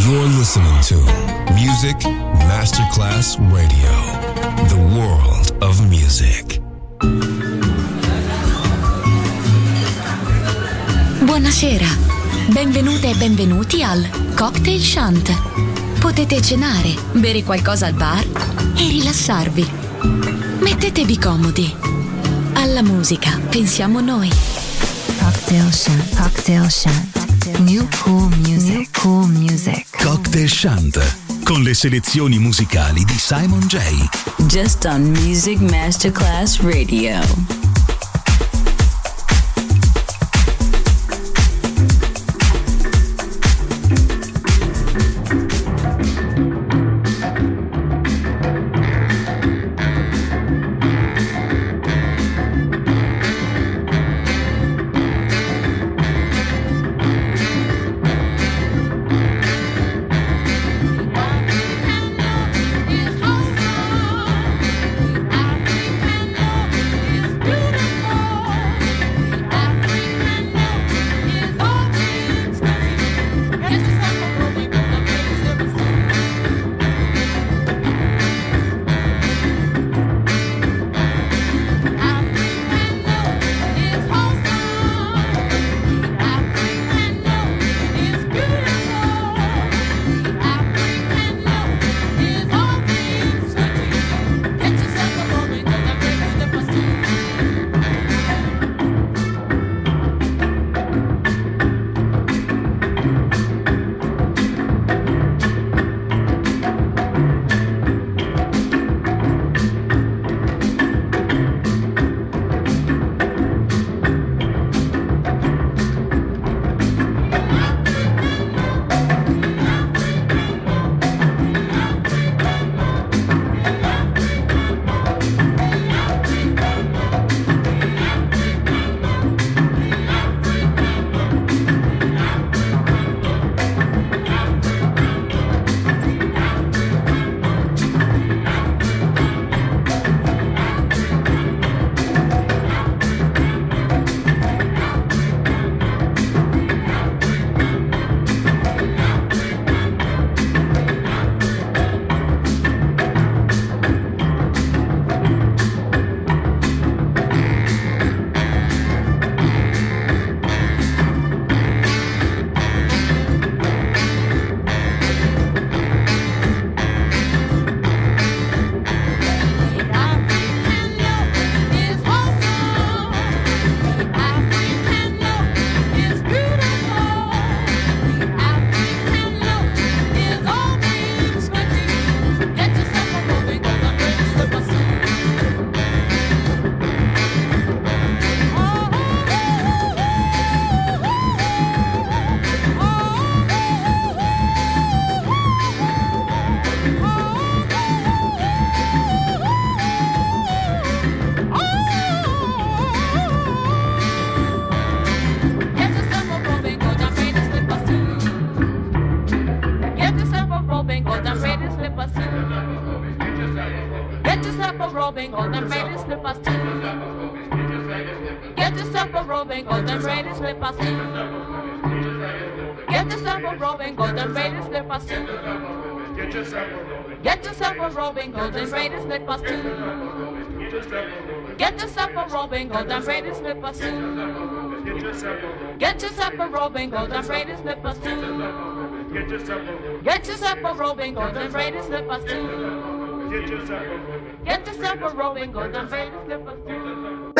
You're listening to Music Masterclass Radio, the world of music. Buonasera, benvenute e benvenuti al Cocktail Shant. Potete cenare, bere qualcosa al bar e rilassarvi. Mettetevi comodi. Alla musica pensiamo noi. Cocktail Shant, Cocktail Shant. New cool music, new cool music. Cocktail Shant, con le selezioni musicali di Simon J. Just on Music Masterclass Radio. Get yourself a robing, golden braided slippers too. Get yourself a robing, golden braided slippers too. Get yourself a robing, golden braided slippers too. Get yourself a robing, golden braided slippers too. Get yourself a robing, golden braided slippers too.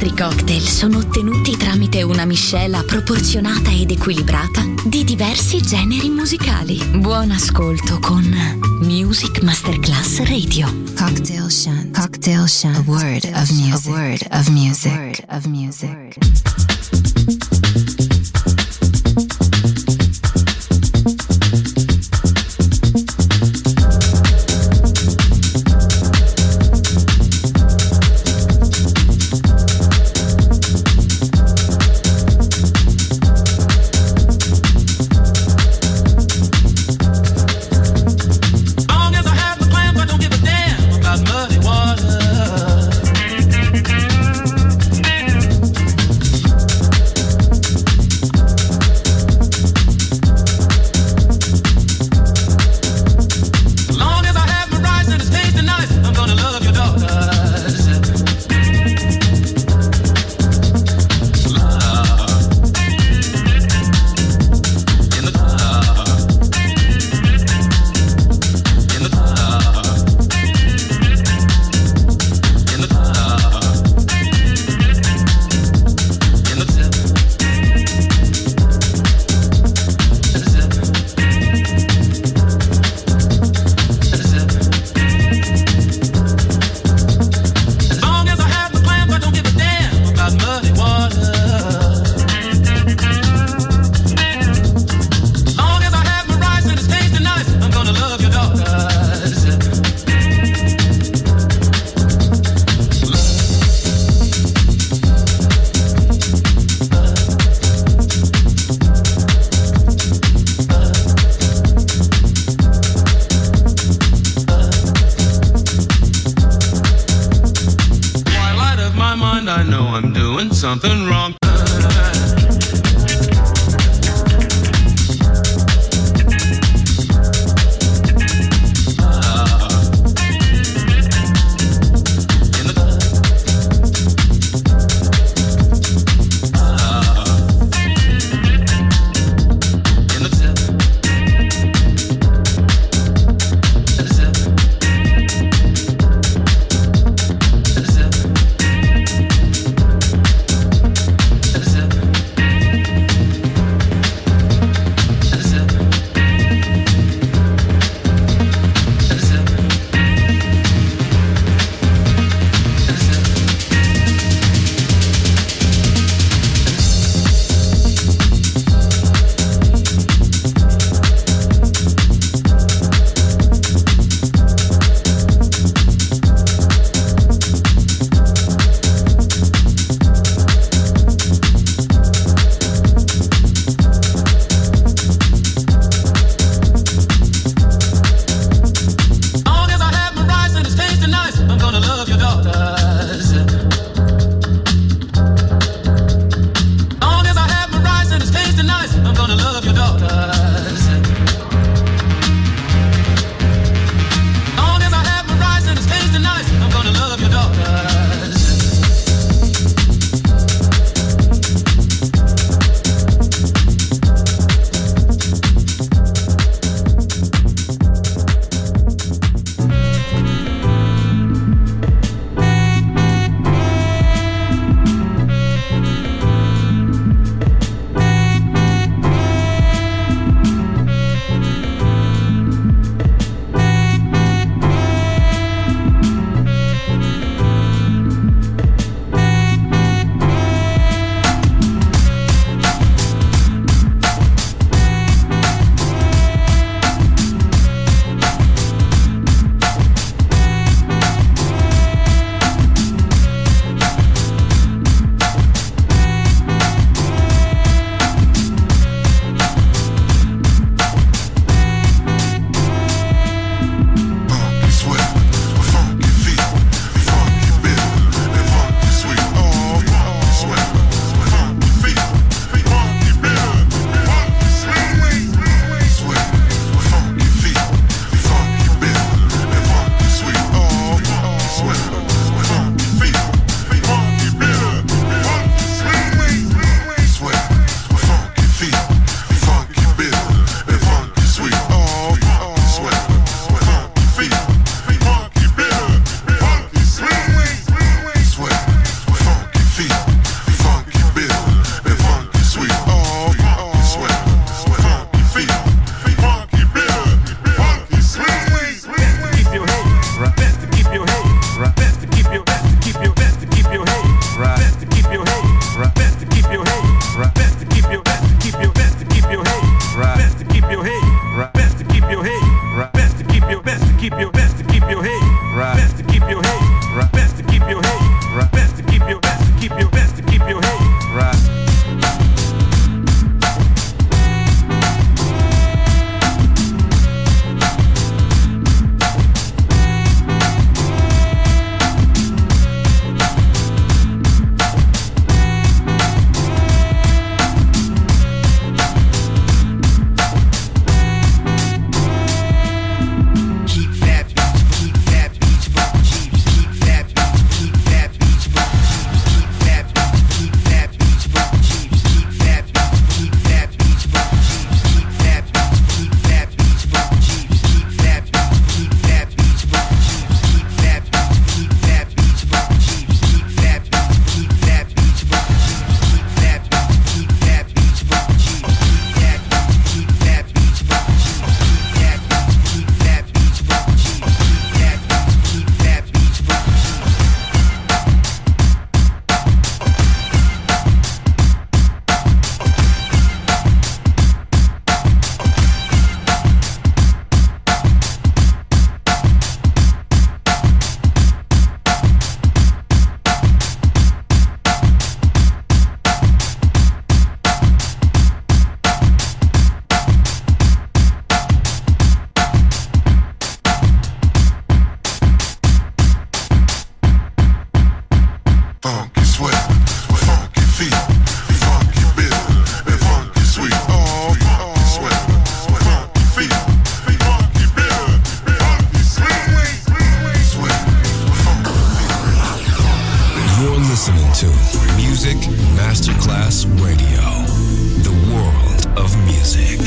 nostri cocktail sono ottenuti tramite una miscela proporzionata ed equilibrata di diversi generi musicali. Buon ascolto con Music Masterclass Radio. Cocktail Shant. Cocktail Shant. A word of music. A word of music. A word of music. Something wrong. Masterclass Radio. The world of music.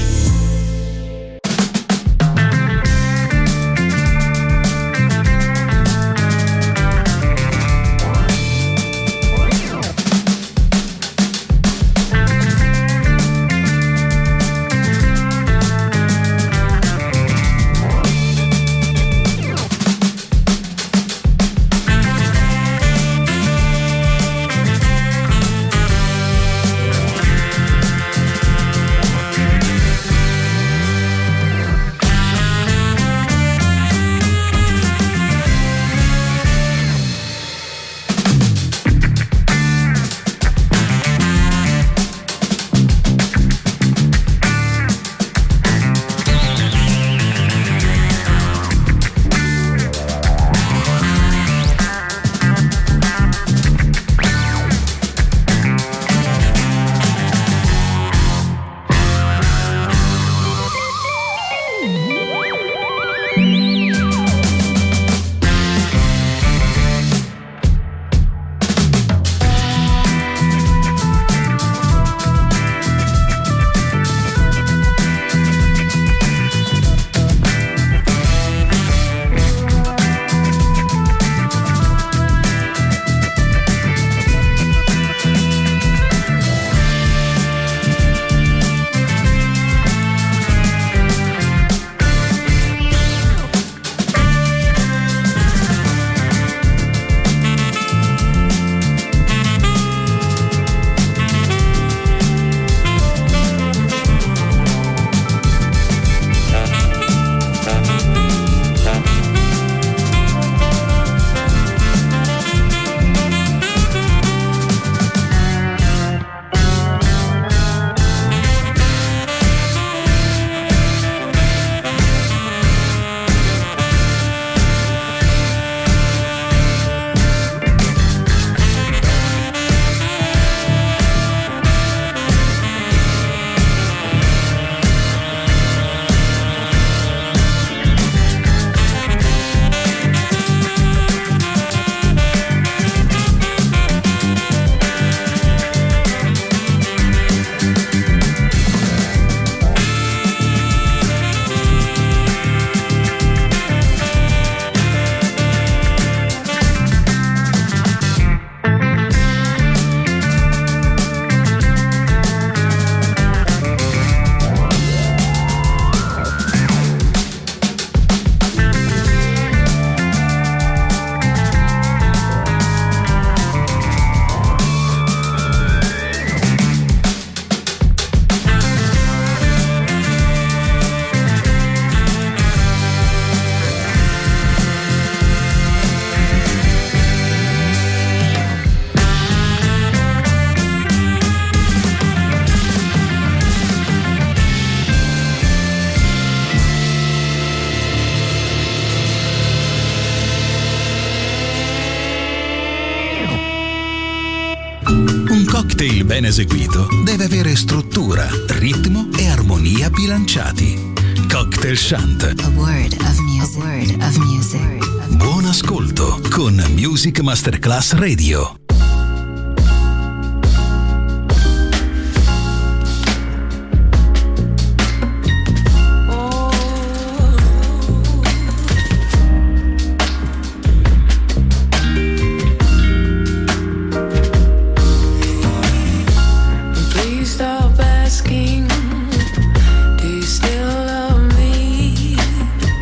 cocktail ben eseguito deve avere struttura, ritmo e armonia bilanciati. Cocktail Shant. A word of music. A word of music. Buon ascolto con Music Masterclass Radio.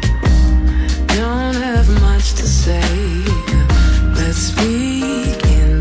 Don't have much to say. Let's begin.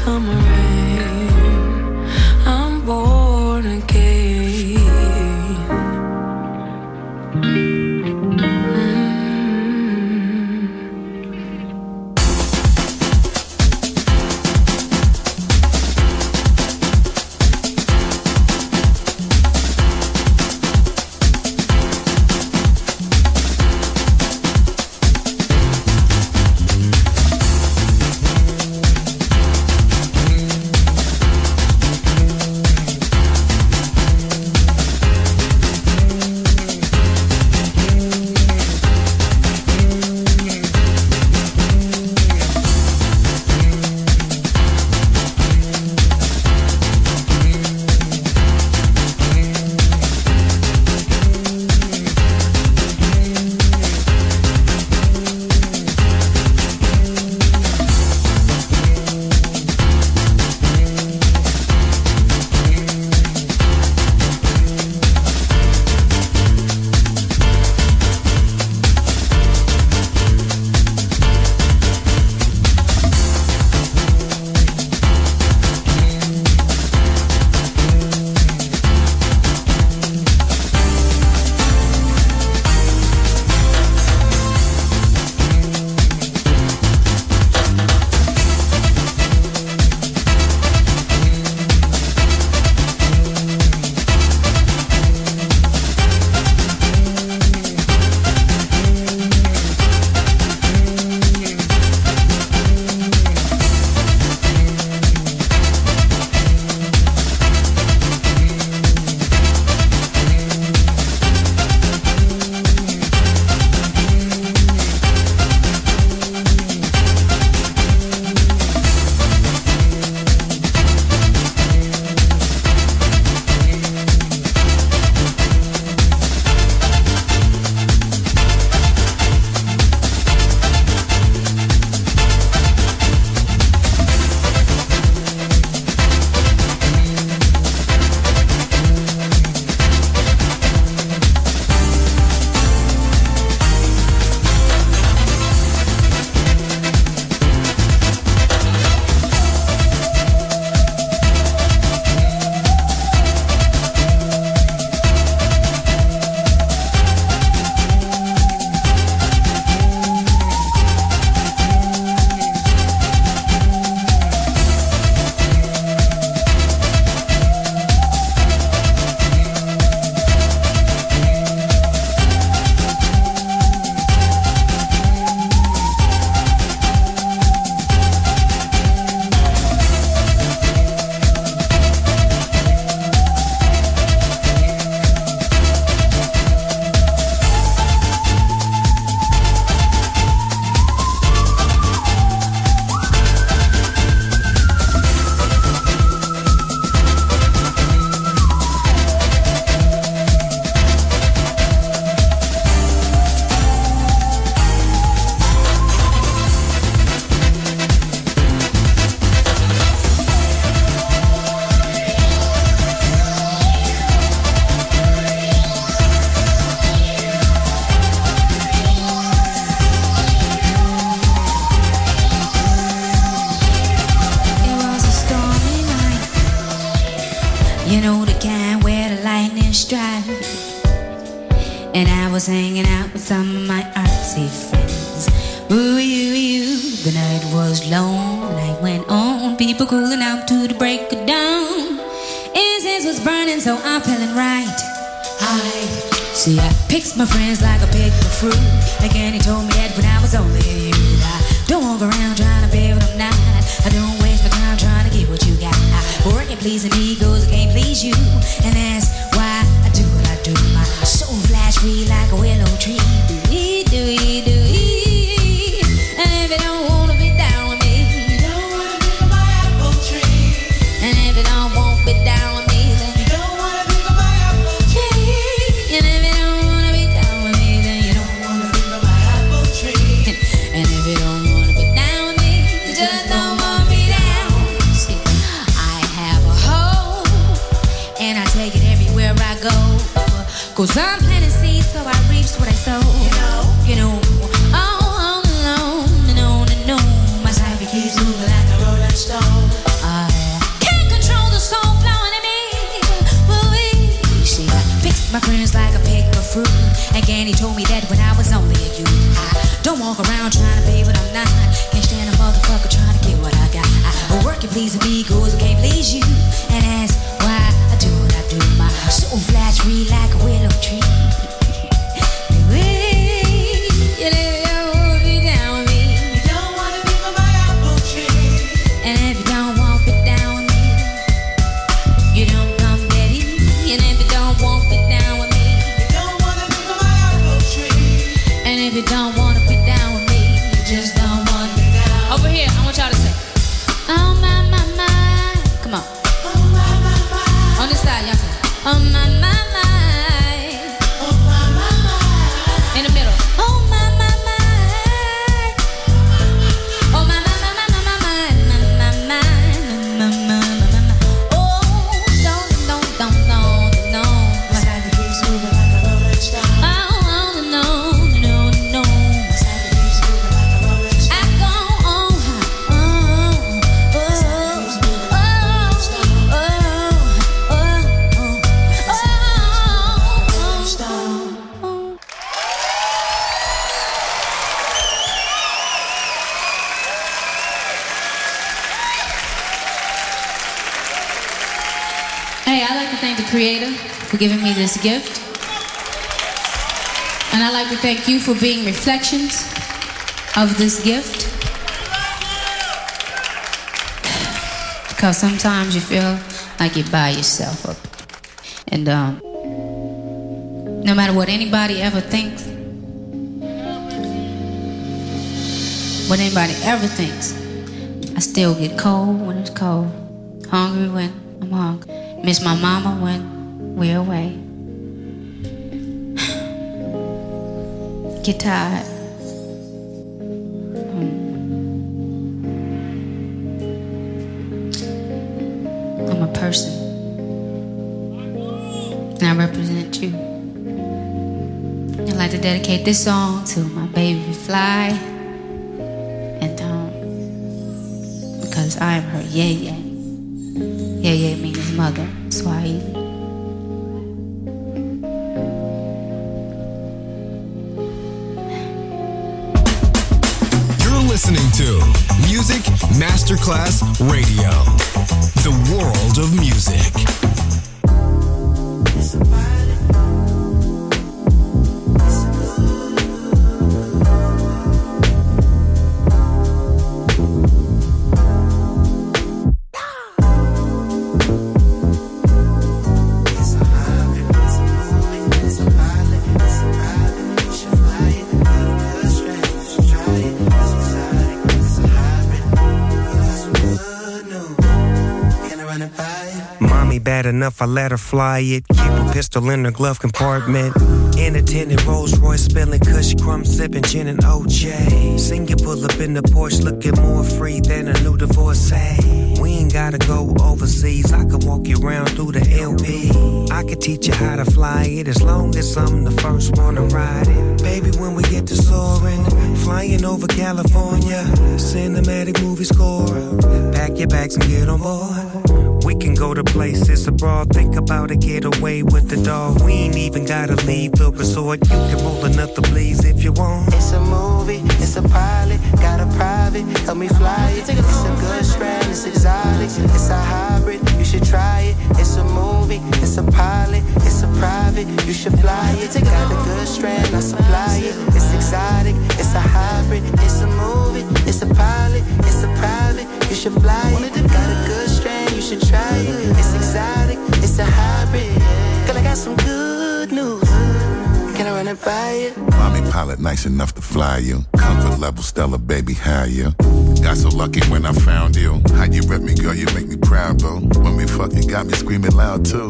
summer rain. I'm born again. And I was hanging out with some of my artsy friends. Ooh, you. The night was long, the night went on. People cooling out to the break of dawn. Incense was burning, so I'm feeling right. See, I picked my friends like I picked the fruit. Like Annie told me that when I was only a youth. I don't walk around trying to be what I'm not. I don't waste my time trying to get what you got. Working pleasing egos, I can't please you. And that's why I do what I do. My soul flash free like a willow tree. And if you don't wanna be down with me, you don't wanna be on my apple tree. And if you don't want to be down with me, then you don't wanna be on my apple tree. And if you don't wanna be down with me, then you don't wanna be on my apple tree. And if you don't wanna be down with me, you just don't wanna be down. See, I have a hole Don't walk around trying to be what I'm not. Can't stand a motherfucker trying to get what I got. I work and please me, cause I can't please you. And ask why I do what I do. My soul flash read like a willow tree. You don't wanna be down with me. You don't wanna be my apple tree. And if you don't want to be down with me, you don't come ready. And if you don't want to be down with me, you don't wanna be my apple tree. And if you don't want to be down with me, you just don't want to be down. Over here, I want y'all to say, oh my, my, my. Come on. Oh my, my, my. On this side, y'all say, oh my, my, my. Oh my, my, my. In the middle. Oh my. Creator for giving me this gift, and I'd like to thank you for being reflections of this gift, because sometimes you feel like you're by yourself up, and no matter what anybody ever thinks, I still get cold when it's cold, hungry when I'm hungry. Miss my mama when we're away. Get tired. I'm a person. And I represent you. I'd like to dedicate this song to my baby Fly. And because I am her yeye. Yeye means mother, Swahili. You're listening to Music Masterclass Radio, the world of music. Bad enough, I let her fly it. Keep a pistol in her glove compartment. In a tinted Rolls Royce, spilling Kush, crumb sipping gin and OJ. Sing you pull up in the Porsche, looking more free than a new divorcee. We ain't gotta go overseas. I could walk you around through the LB. I could teach you how to fly it as long as I'm the first one to ride it. Baby, when we get to soaring, flying over California, cinematic movie score. Pack your bags and get on board. We can go to places abroad, think about a getaway with the dog. We ain't even gotta leave the resort. You can roll another please if you want. It's a movie, it's a pilot, got a private, help me fly it. It's a good strand, it's exotic, it's a hybrid, you should try it. It's a movie, it's a pilot, it's a private, you should fly it. Got a good strand, I supply it. It's exotic, it's a hybrid, it's a movie, it's a pilot, it's a private, you should fly it. Got a good strand, you should try it. It's exotic, it's a hybrid. Girl, I got some good news. Can I run it by you? Mommy pilot nice enough to fly you. Comfort level stellar, baby, higher. Got so lucky when I found you. How you rep me, girl, you make me proud, boo. When we fucking got me screaming loud, too.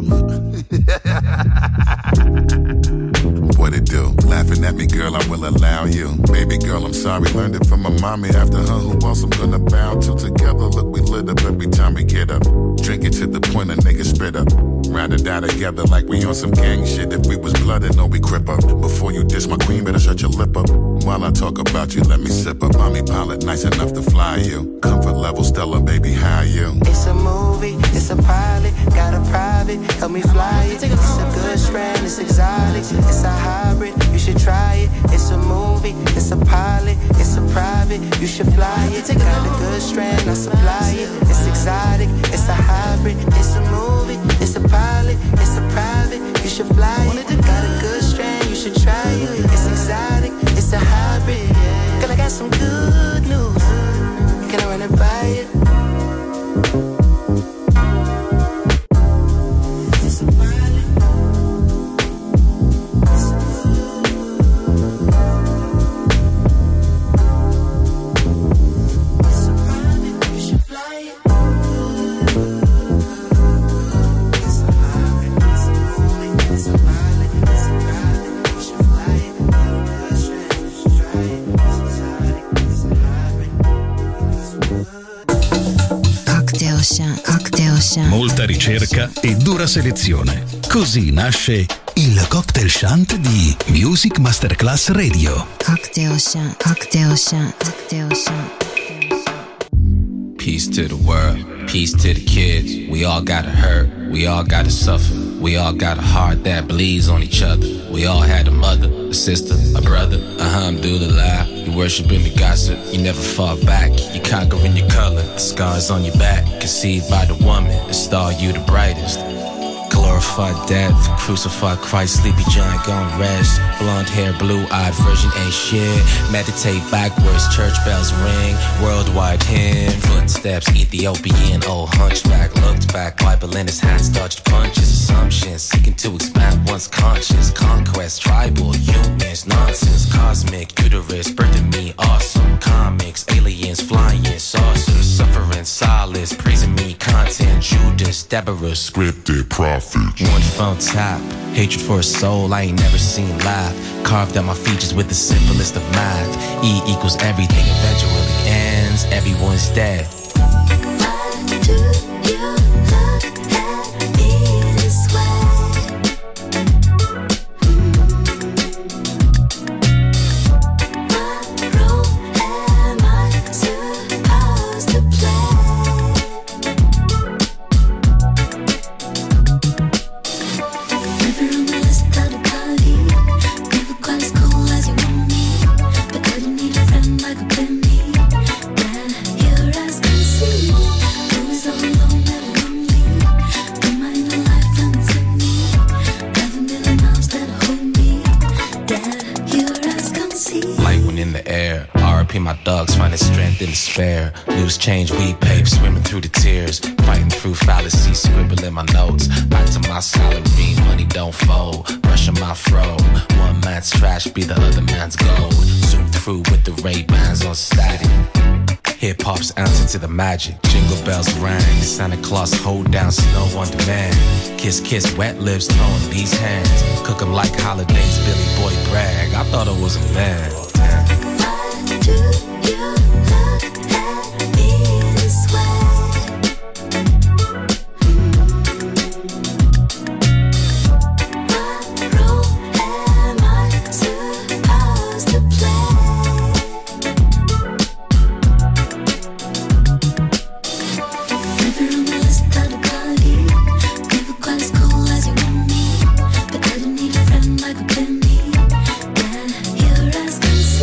What it do? Laughing at me, girl, I will allow you. Baby girl, I'm sorry, learned it from my mommy. After her, who else I'm gonna bow to? Together, look, we lit up every time we get up. Drink it to the point a nigga spit up. rather die together like we on some gang shit. If we was blooded, no, we crip up. Before you diss my queen, better shut your lip up. While I talk about you, let me sip up. Mommy pilot, nice enough to fly you. Comfort level, Stella, baby, how you? It's a movie, it's a pilot, got a private, help me fly it. It's a good strand, it's exotic, it's a hybrid, you should try it. It's a movie, it's a pilot, it's a private, you should fly it. Got a good strand, I supply it. It's exotic, it's a hybrid, it's a movie, it's a pilot, it's a private, you should fly it. Got a good strand, you should try it. It's exotic, it's a hybrid. Girl, I got some good news. Can I run it by you? Molta ricerca e dura selezione. Così nasce il Cocktail Shant di Music Masterclass Radio. Cocktail Shant, Cocktail Shant, Cocktail Shant. Peace to the world, peace to the kids. We all gotta hurt, we all gotta suffer. We all got a heart that bleeds on each other. We all had a mother, a sister, a brother. Alhamdulillah, you worshiping the gossip. You never fall back, you conquering your color. The scars on your back, conceived by the woman. The star you the brightest. Glorified death, crucified Christ, sleepy giant gone rest. Blonde hair, blue-eyed virgin ain't shit. Meditate backwards, church bells ring. Worldwide hymn, footsteps, Ethiopian old hunchback. Looked back, Bible in his hands, dodged punches. Assumptions, seeking to expand one's conscience. Conquest, tribal, humans, nonsense. Cosmic, uterus, birthing me, awesome. Comics, aliens, flying, saucers. Suffering, solace, praising me, content. Judas, Deborah, scripted, prophet. One phone tap, hatred for a soul I ain't never seen live. Carved out my features with the simplest of math. E equals everything eventually ends, everyone's dead. Why do you look at me this way? What role am I supposed to play? Never on the list of the party. Never quite as cool as you want me, but couldn't need a friend like a penny. Then your eyes can see. Always all alone and lonely. Don't mind the life unto me. 11 million arms that hold me. Then your eyes can see. Light one in the air. RIP my dogs, finding strength in despair. Loose change, weed pape, swimming through the tears. Fighting through fallacies, scribbling my notes. Back to my salary, money don't fold. Brushing my fro. One man's trash be the other man's gold. Zoom through with the Ray-Bans on static. Hip-hop's ounce into the magic. Jingle bells rang. Santa Claus hold down snow on demand. Kiss, kiss, wet lips, throwing these hands. Cook 'em like holidays, Billy Boy brag. I thought I was a man. Why do you look at me this way? What role am I supposed to play? Never on the list of the party. Never quite as cool as you want me, but couldn't need a friend like a penny. Then your eyes can see.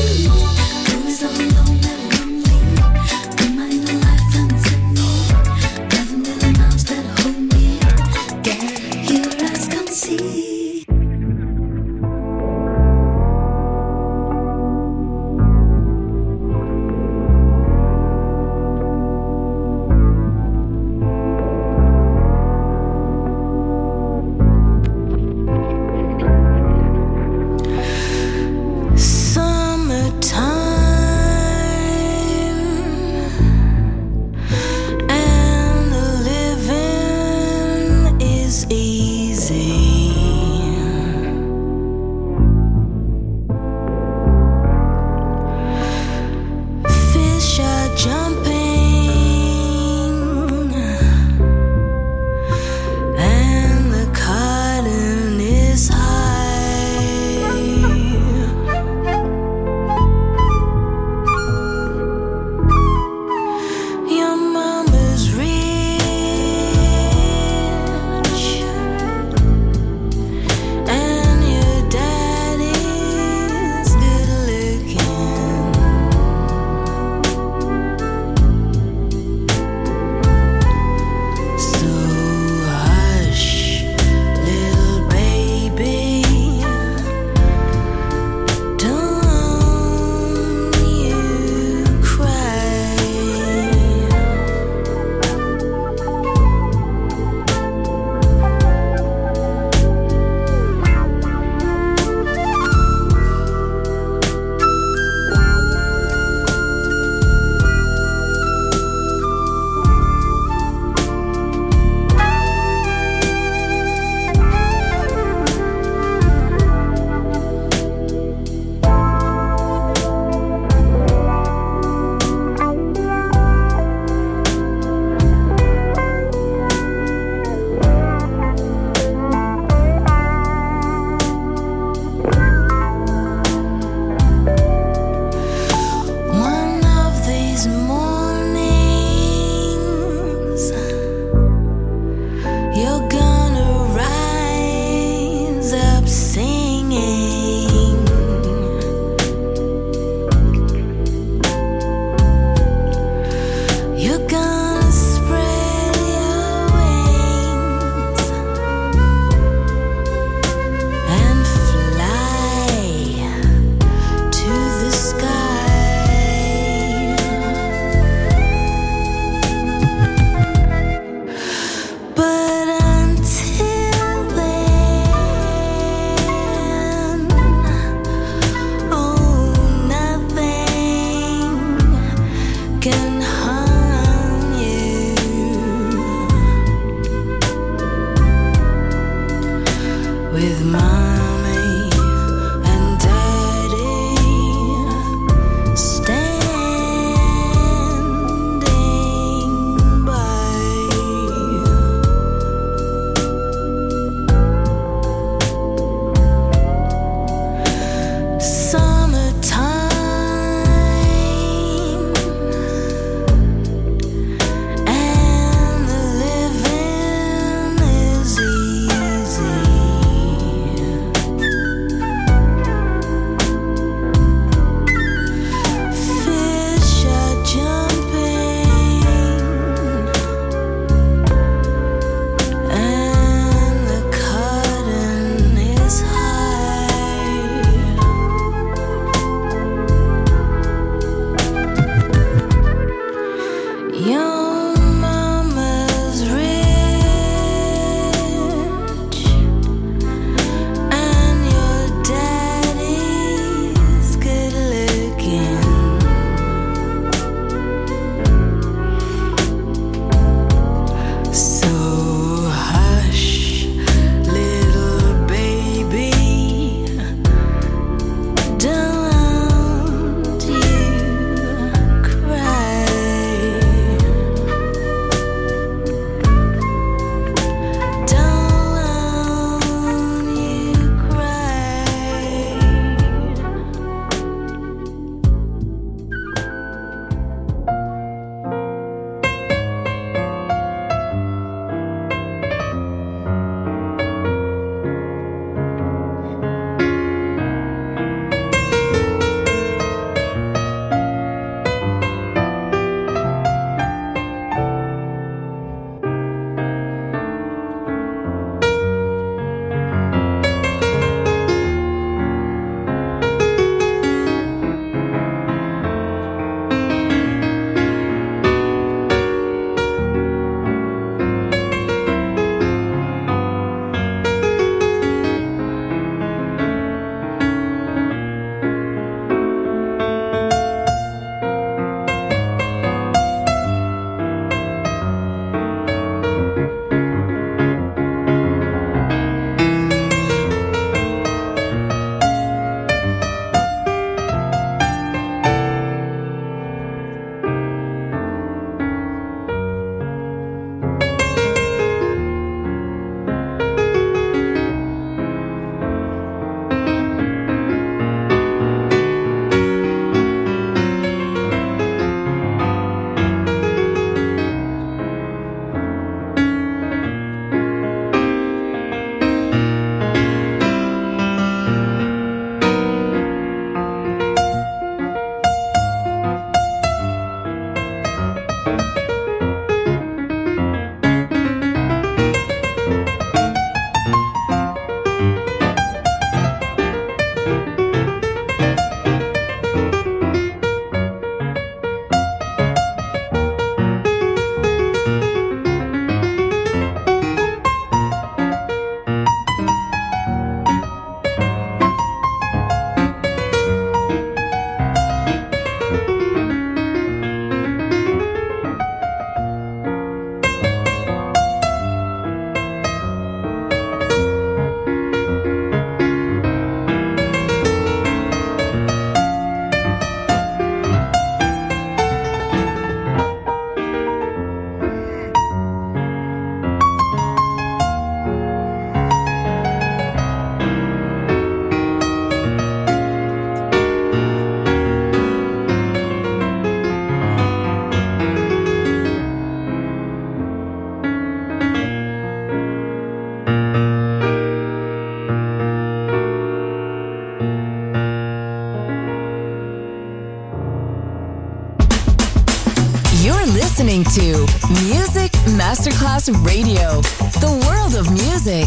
You're listening to Music Masterclass Radio, the world of music.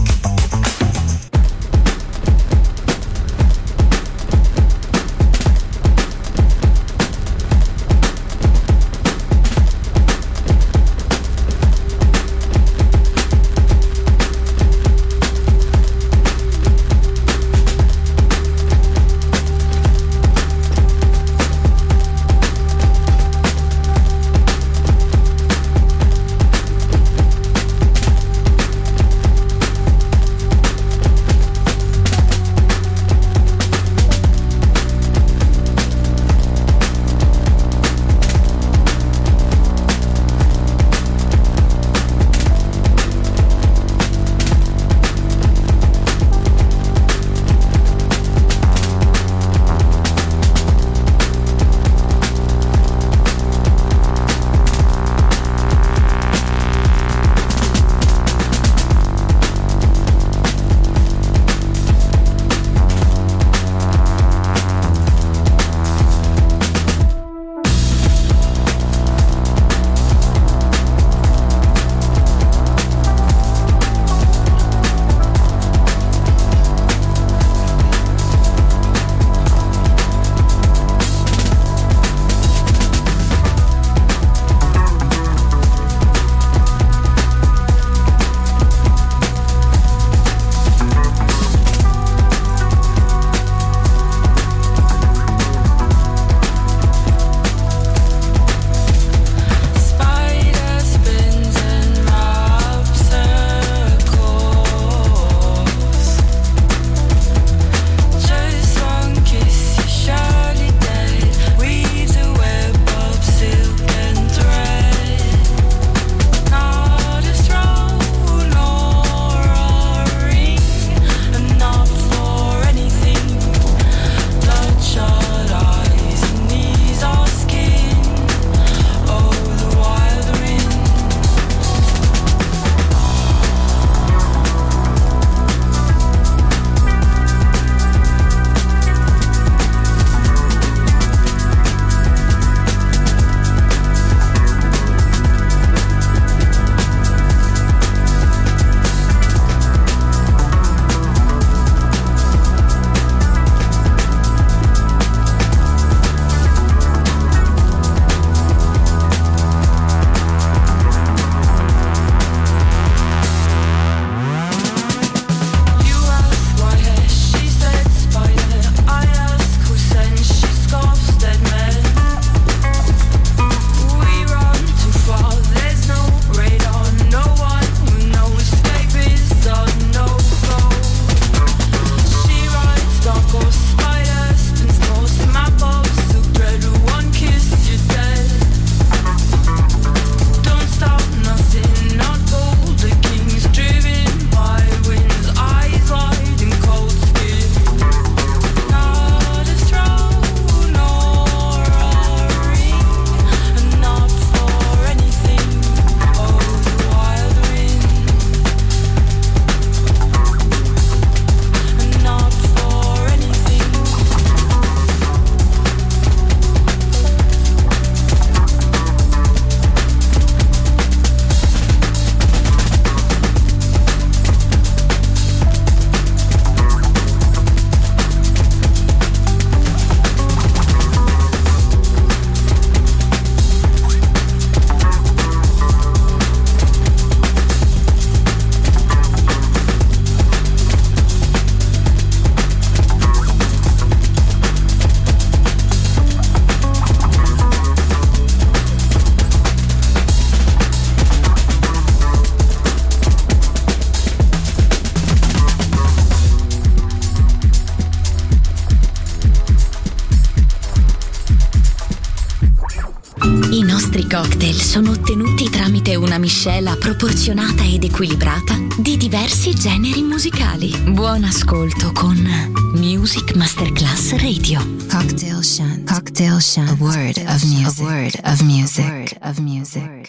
cocktail sono ottenuti tramite una miscela proporzionata ed equilibrata di diversi generi musicali. Buon ascolto con Music Masterclass Radio. Cocktail Shunt. Cocktail Shunt. A word of music. A word of music. A word of music.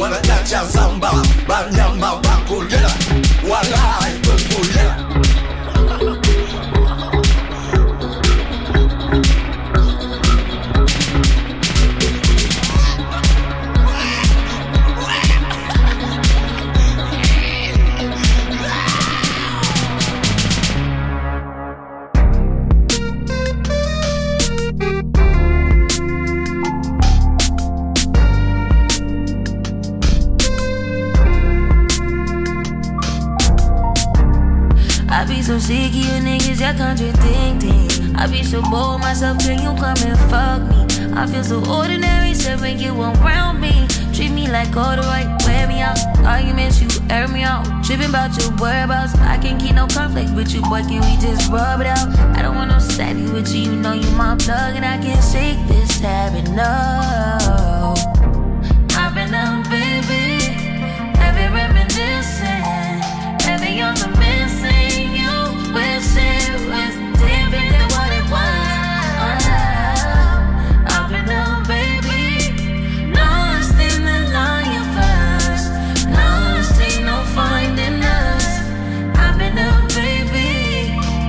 wanna dance ya samba, banyama bakulela, walai bakulela. I be so sick of you niggas, y'all contradicting. I be so bold myself, can you come and fuck me? I feel so ordinary, so when you around me. Treat me like all the right, wear me out. Arguments, you air me out. Tripping about your whereabouts. I can't keep no conflict with you, boy, can we just rub it out? I don't want no steady with you, you know you my plug. And I can't shake this habit, no. I've been down, baby. Heavy reminiscing. Heavy on the missing. You wish it was different than what it was. I've been down, baby. Lost in the line first. Lost, ain't no finding us. I've been down, baby.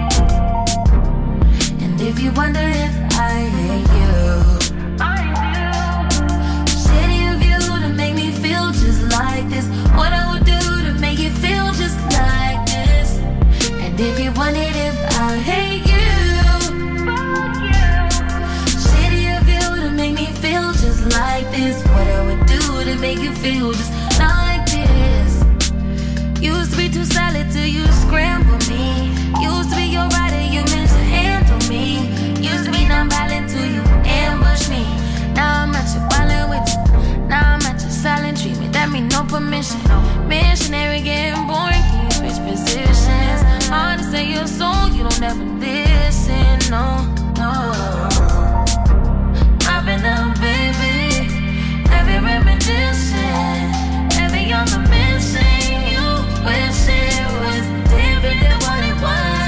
And if you wonder if I hate you, I do. Shitty of you to make me feel just like this. What I would do to make you feel just like this. And if you wondered if I hate you, fuck you. Shitty of you to make me feel just like this. What I would do to make you feel just like this. Used to be too solid till you scramble me. Used to be your rider, you meant to handle me. Used to be non-violent till you ambush me. Now I'm at your violent with you. Now I'm at your silent treatment. That mean no permission. Missionary getting boring, can you switch positions? Hard to say your soul, you don't ever listen, no, no. I've been down, baby. Heavy reminiscing. Heavy on the missing. You wish it was different than what it was.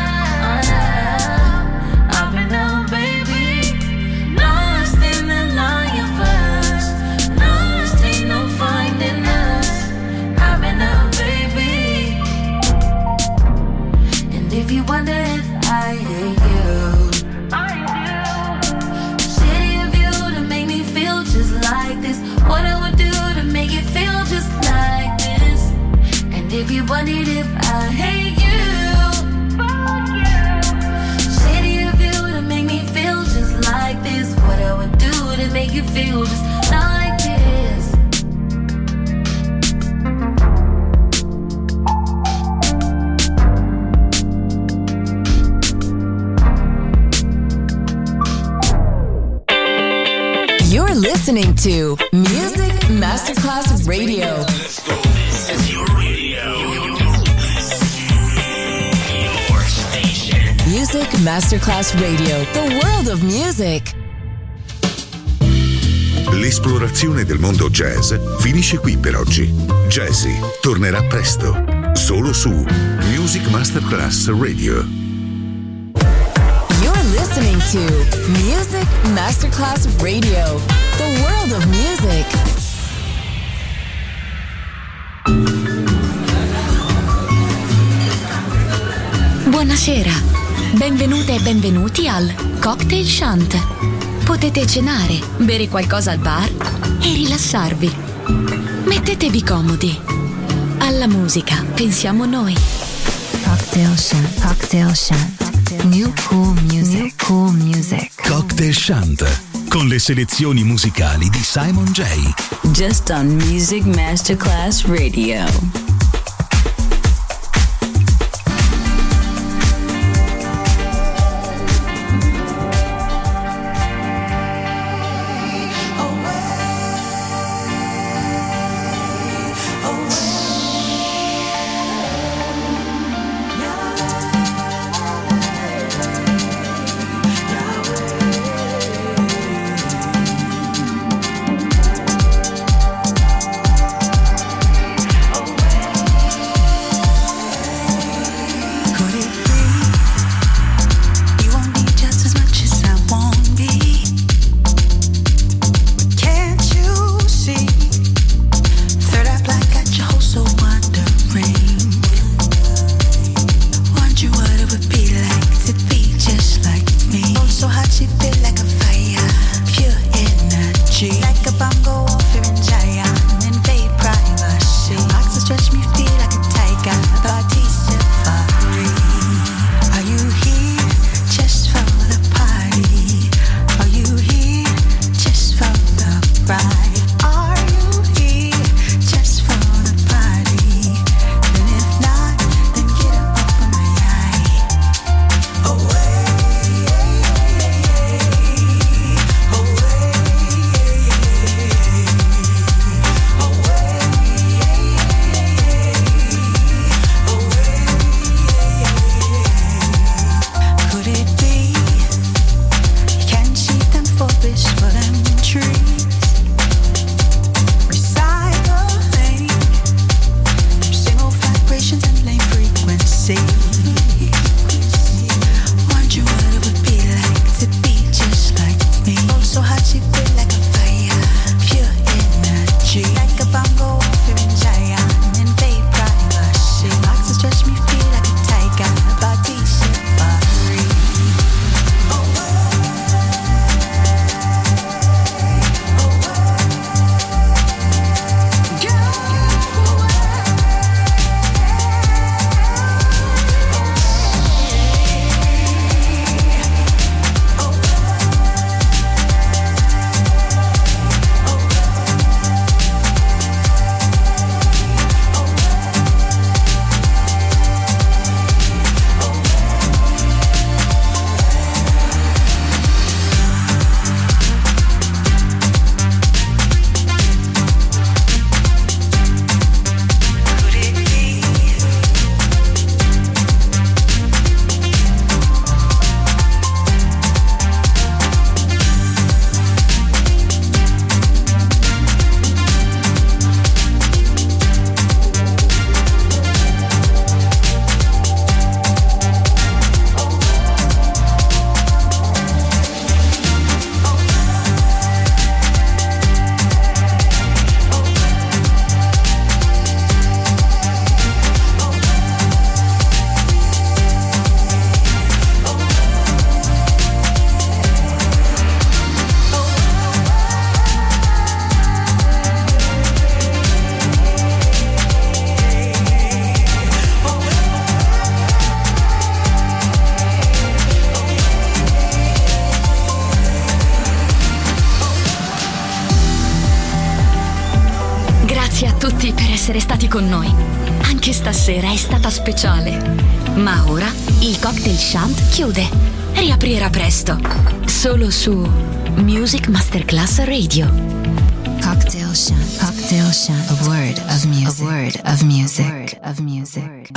I've been down, baby. Lost in the line first. Lost, ain't no finding us. I've been down, baby. And if you wonder if I hate you, I do. Shitty of you to make me feel just like this. What I would do to make it feel just like this. And if you wondered if I hate you, fuck you. Shitty of you to make me feel just like this. What I would do to make you feel just like this. You're listening to Music Masterclass Radio. This is your radio. Your station. Music Masterclass Radio, the world of music. L'esplorazione del mondo jazz finisce qui per oggi. Jazzy tornerà presto, solo su Music Masterclass Radio. You're listening to Music Masterclass Radio, the world of music. Buonasera, benvenute e benvenuti al Cocktail Shant. Potete cenare, bere qualcosa al bar e rilassarvi. Mettetevi comodi. Alla musica pensiamo noi. Cocktail Shant. Cocktail Shant. New cool music. New cool music. Cocktail Shant, con le selezioni musicali di Simon J. Just on Music Masterclass Radio. Away. essere stati con noi. Anche stasera è stata speciale. Ma ora il Cocktail Shant chiude. Riaprirà presto. Solo su Music Masterclass Radio. Cocktail Shant. Cocktail Shant. A word of music. A word of music.